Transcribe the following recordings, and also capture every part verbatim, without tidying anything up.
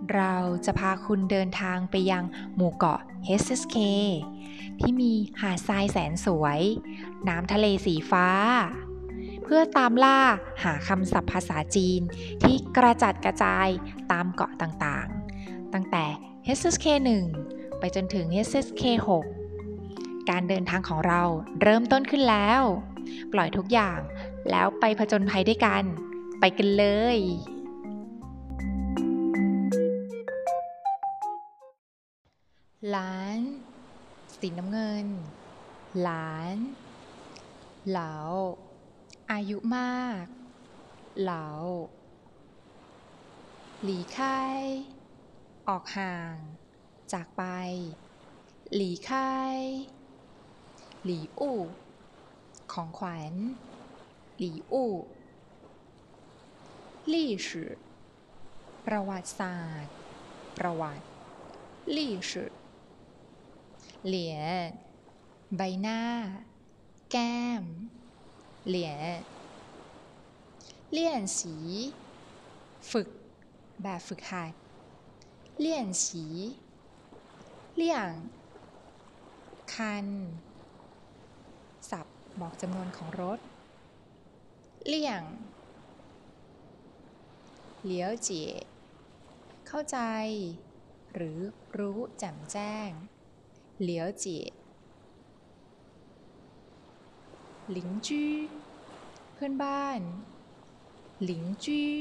เราจะพาคุณเดินทางไปยังหมู่เกาะ เอส เอส เค ที่มีหาดทรายแสนสวย น้ำทะเลสีฟ้า เพื่อตามล่าหาคำศัพท์ภาษาจีนที่กระจัดกระจายตามเกาะต่างๆ ตั้งแต่ เอส เอส เค หนึ่ง ไปจนถึง เอส เอส เค หก การเดินทางของเราเริ่มต้นขึ้นแล้ว ปล่อยทุกอย่างแล้วไปผจญภัยด้วยกัน ไปกันเลยหลานสีน้ำเงินหลานเหลาอายุมากเหลาหลีค่ายออกห่างจากไปหลีค่ายหลีอู่ของขวัญหลีอู่ลี่สื่อประวัติศาสตร์ประวัติลี่สื่อเหรียญใบหน้าแก้มเหรียญเลี่ยนสีฝึกแบบฝึกหัดเลี่ยนสีเลี่ยงคันศัพท์บอกจำนวนของรถเลี่ยงเหลียวเจี๋ยเข้าใจหรือรู้แจ่มแจ้งเหลียวเจี๋ยหลิงจื้อเพื่อนบ้านหลิงจื้อ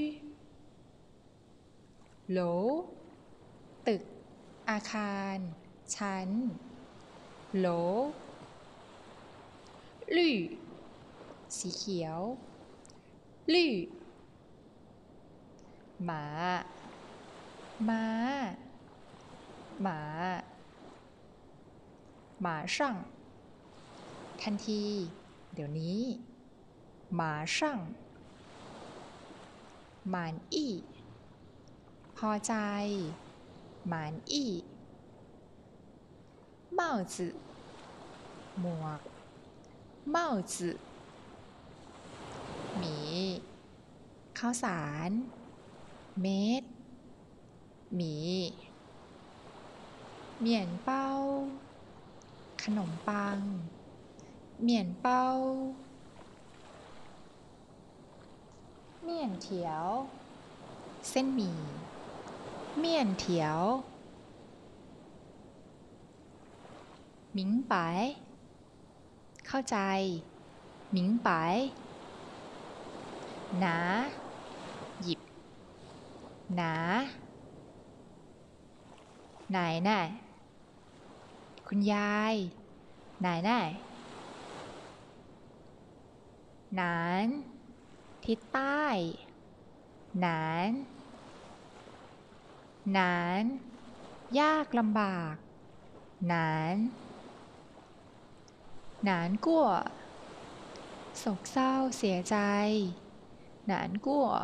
โหลตึกอาคารชั้นโหลลี่สีเขียวลี่หมาม้าหมาหมาช่างทันทีเดี๋ยวนี้หมาช่างหมานอี้พอใจหมานอี้帽子หมวก帽子หมีข้าวสารเม็ดหมีเหมี่ยนเป้าขนมปังเหมี่ยนเป้าเมี่ยนเถียวเส้นหมี่เมี่ยนเถียวหมิงไปเข้าใจหมิงไปหนาหยิบหนาไหนไหนคุณยายไหนไหนหนานทิศใต้หนานหนานยากลำบากหนานหนานกั่วโศกเศร้าเสียใจหนานกั่ว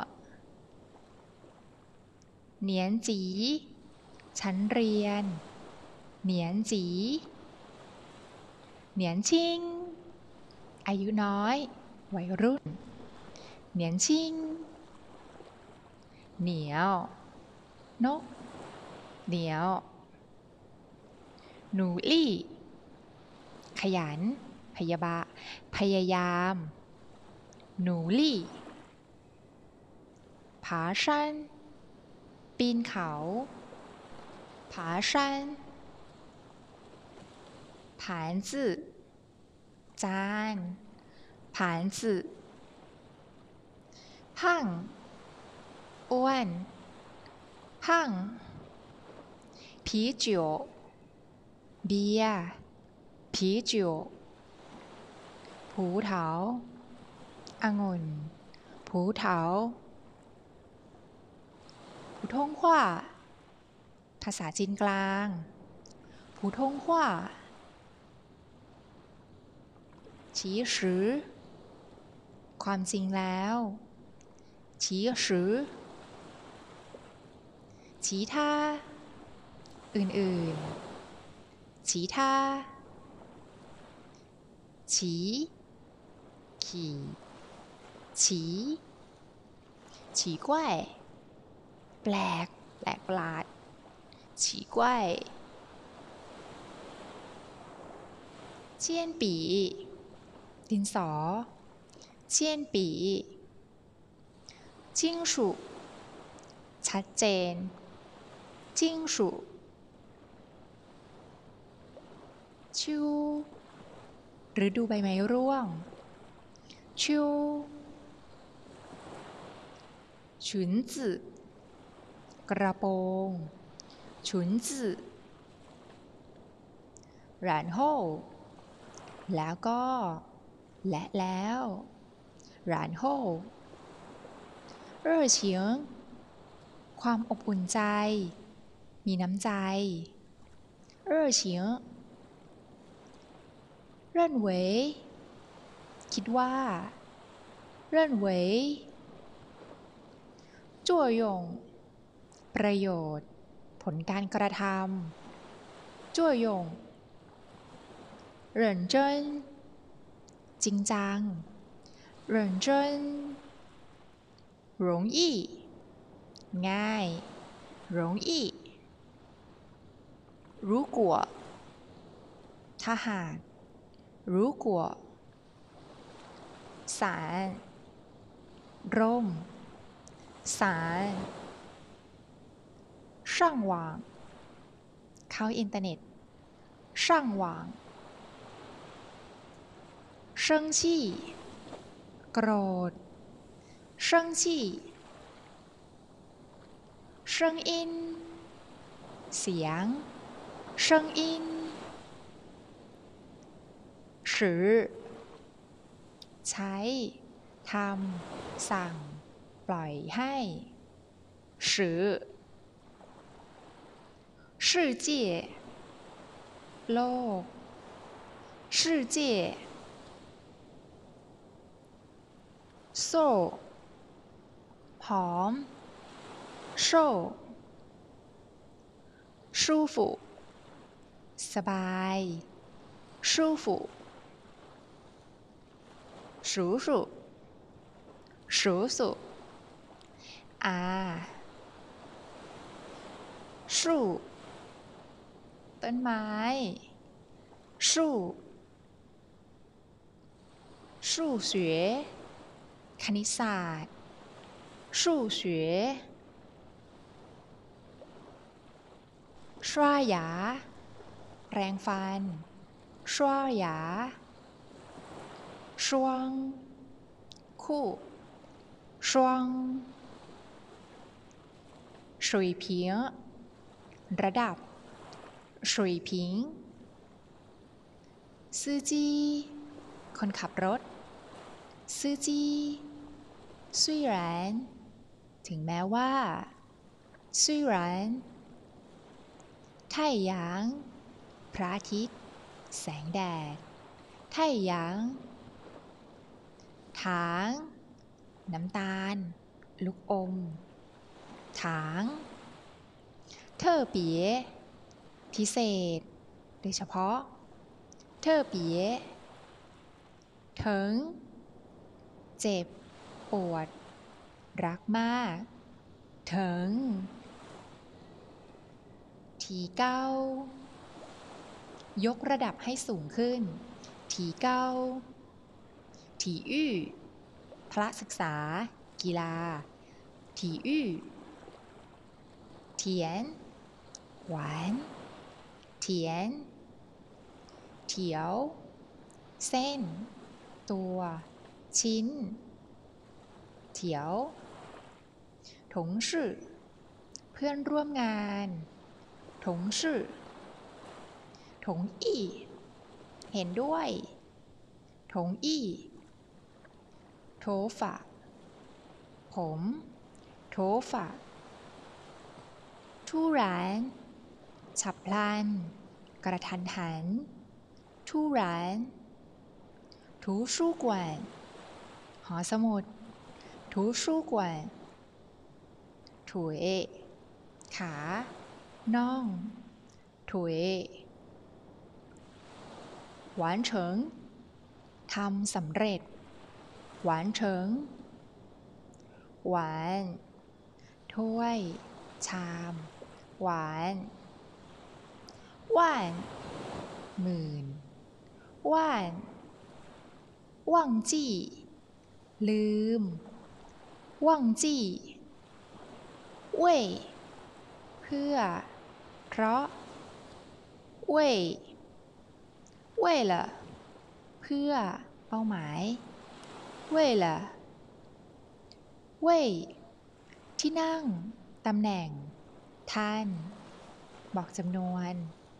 เหนียนจีชั้นเรียนเหนียนจีเหนียนชิงอายุน้อยวัยรุ่นเหนียนชิงเหนียวนกเหนียวหนูลี่ขยันพยาบาพยายามหนูลี่ผาชันปีนเขาผาชันผานจื่อจานผานจื่อพังอ้วนพังผีเจียวเบียร์ผีเจียวผูเถาองุ่นผูเถาผู้ท่งขว้าภาษาจีนกลางผู้ท่งขว้าฉีสือความจริงแล้วฉีสือฉีท่าอื่นๆฉีท่าฉีขี่ฉีฉีกล้วยแปลกแปลกประหลาดฉีกล้วยเจียนปีดินสอเจียนปีจิ้งฉุชัดเจนจิ้งฉุชิวฤดูใบไม้ร่วงชิวฉุนจื่อกระโปรงฉุนจื่อ然后แล้วก็และแล้ว然后热情ความอบอุ่นใจมีน้ำใจ热情认为คิดว่า认为作用ประโยชน์ผลการกระทำ作用认真จริงจัง认真容易ง่าย容易如果ถ้าหาก如果สารร่มสาร上网เข้าอินเทอร์เน็ต上网生气โกรธ生气声音เสียง声音使ใช้ทำสั่งปล่อยให้使世界โลก世界โซ่ผอมโซ่舒服สบาย舒服叔叔叔叔อา树ต้นไม้树数学คณิตศาสตร์数学刷牙แปรงฟัน刷牙双คู่双水平ระดับ水平司机คนขับรถ司机虽然ถึงแม้ว่า虽然太阳พระอาทิตย์แสงแดด太阳ถางน้ำตาลลูกอมถางเท่อเปี๋ยพิเศษโดยเฉพาะเท่อเปี๋ยถึงเจ็บปวดรักมากถึงทีเก้ายกระดับให้สูงขึ้นทีเก้า体育พละศึกษากีฬา体育เถียนหวานเถียนเถียวเส้นตัวชิ้นเถียวถงชื่อเพื่อนร่วมงานถงชื่อถงอี้เห็นด้วยถงอี้โถฝะผมโถฝะทุรานฉับพลันกระทันหันทุราน图书馆หอสมุด图书馆ถุยขาน่องถุยหวานเฉิงทำสำเร็จหวานเฉิงหวานถ้วยชามหวานว่านหมื่นว่านว่างจี้ลืมว่างจี้เว่ยเพื่อเพราะเว่ยเว่ยละเพื่อเป้าหมายเว่ยละเว่ยที่นั่งตำแหน่งท่านบอกจำนวน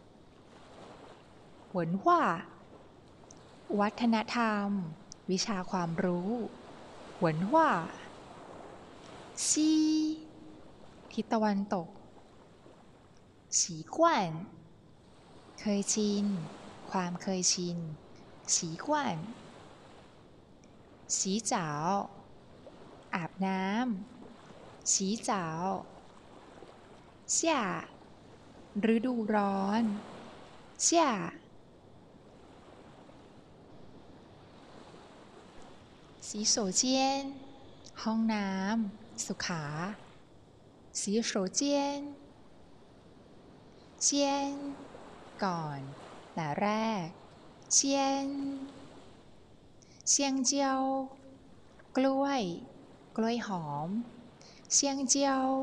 หวนว่าวัฒนธรรมวิชาความรู้หวนว่าซีทิศตะวันตกสีกวนเคยชินความเคยชินสีกวนสีเจ๋าอาบน้ำสีเจ๋า夏ฤดูร้อน夏洗手间ห้องน้ำสุขา洗手间เชียนก่อนแต่แรกเชียนเชียงเจียวกล้วยกล้วยหอมเชียงเจียว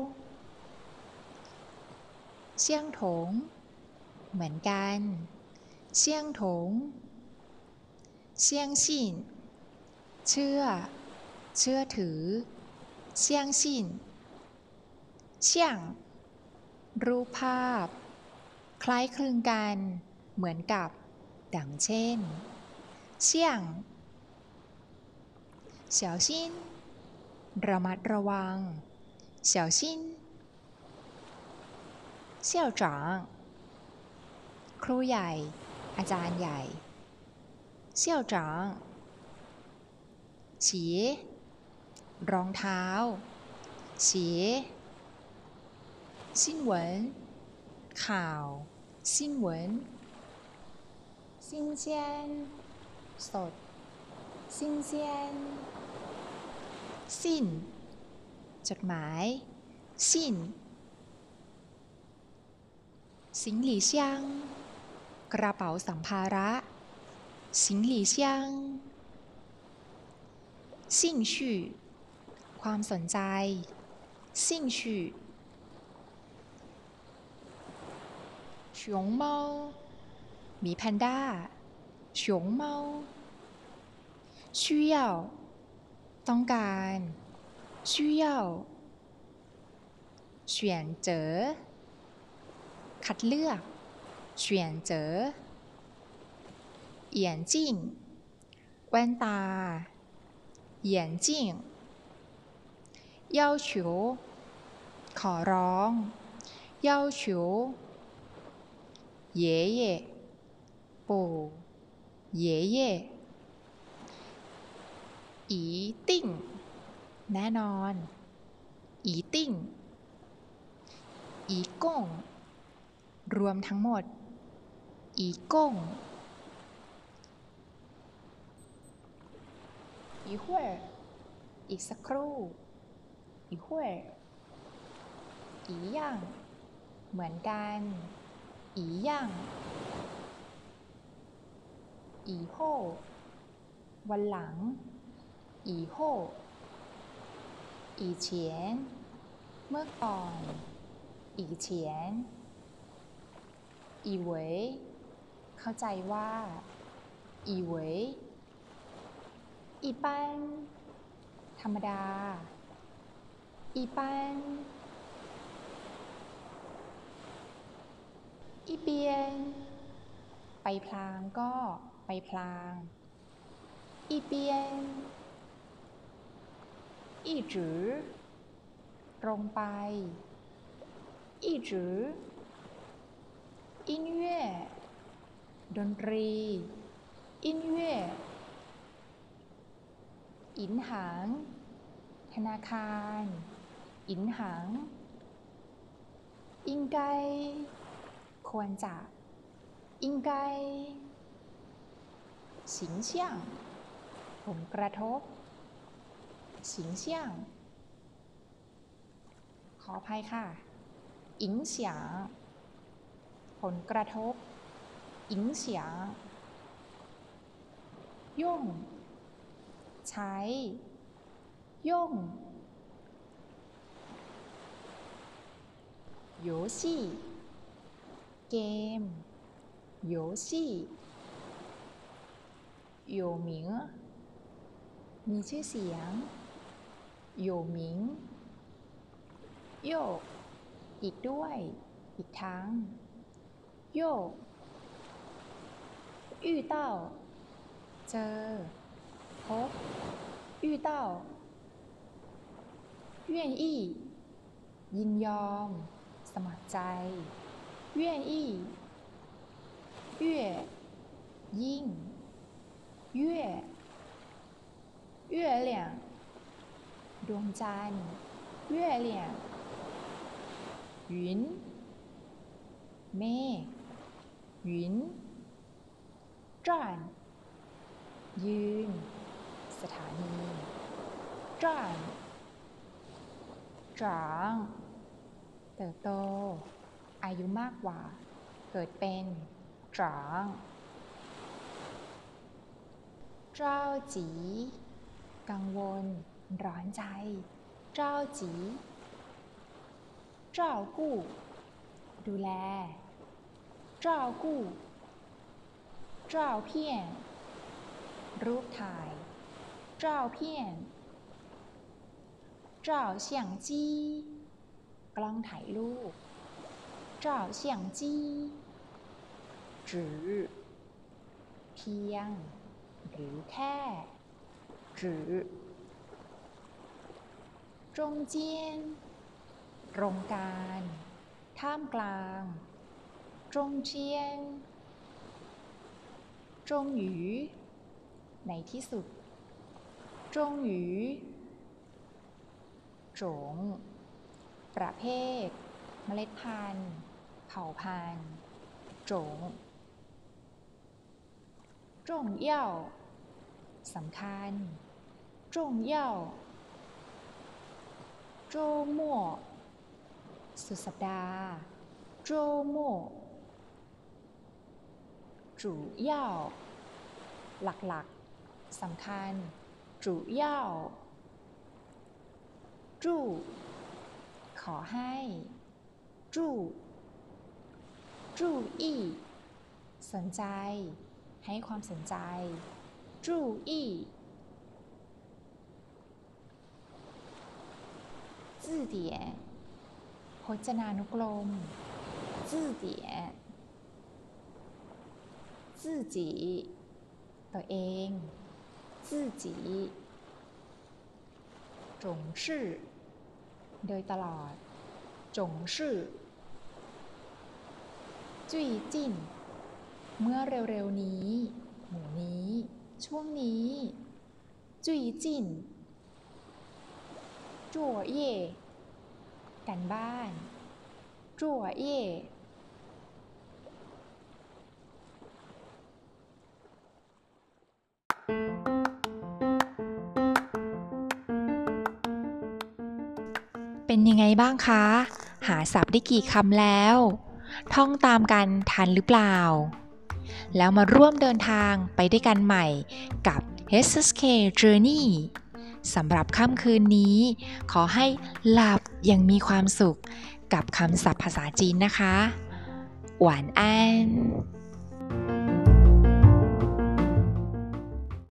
เชียงถงเหมือนกันเชียงถงเชียงชินเชื่อเชื่อถือเชียงชินเชียงรูปภาพคล้ายคลึงกันเหมือนกับดังเช่นเชียง小心ระมัดระวัง小心校长ครูใหญ่อาจารย์ใหญ่校长ฉีรองเท้าฉี新闻ข่าว新闻新鲜สด新鲜สิ้นจดหมายสิ้น行李箱กระเป๋าสัมภาระ行李箱兴趣ความสนใจ兴趣熊猫หมีแพนด้า熊猫需要ต้องการ需要选择คัดเลือก选择眼镜แว่นตา眼镜要求ขอร้อง要求爷爷ปู่爷爷一定แน่นอน一定一共รวมทั้งหมด一共一会儿อีกสักครู่一会儿一样เหมือนกัน一样以后วันหลัง以后以前เมื่อก่อน以前以为เข้าใจว่า以为一般ธรรมดา一般一边ไปพลางก็ไปพลาง一边一直ตรงไป一直音乐ดนตรี音乐银行ธนาคาร银行应该ควรจะ应该形象ผลกระทบ形象ขออภัยค่ะ影响ผลกระทบ影响ย่งใช้ย่ง游戏เกม游戏有名มีชื่อเสียง有名โยกอีกด้วยอีกทั้งโยก遇到เจอพบ遇到愿意ยินยอมสมัครใจ愿意越ยิ่ง越月亮ดวงจันทร์月亮云เมฆ云站ยืนสถานี站长เติบโตอายุมากกว่าเกิดเป็น长เจ้าจีกังวลร้อนใจเจ้าจีเจ้ากู้ดูแลเจ้ากู้เจ้าเพี้ยนรูปถ่ายเจ้าเพี้ยนเจ้าเสี่ยงจี้กล้องถ่ายรูปเจ้าเสี่ยงจี้จือเพียงหรือแค่จือจงเจียนตรงกลางท่ามกลางจงเจียนจงหยูในที่สุดจงหยูจงประเภทเมล็ดพันธุ์เผ่าพันธุ์จงจงเย่าสำคัญจงเย่าโจมั่วสุดสัปดาห์โจมั่วจู่เย่าหลักๆสำคัญจู่เย่าจู่ขอให้จู่จู่อี้สนใจให้ความสนใจจู่อี้字典พจนานุกรม字典自己ตัวเอง自己จงชื่อโดยตลอดจงชื่อจุ้ยจิ้นเมื่อเร็วๆนี้หมู่นี้ช่วงนี้จุ้ยจิ้นจั่วเย่กันบ้านจั่วเย่เป็นยังไงบ้างคะหาศัพท์ได้กี่คำแล้วท่องตามกันทันหรือเปล่าแล้วมาร่วมเดินทางไปด้วยกันใหม่กับ เอส เอส เค Journey สำหรับค่ำคืนนี้ขอให้หลับอย่างมีความสุขกับคำศัพท์ภาษาจีนนะคะหวานอัน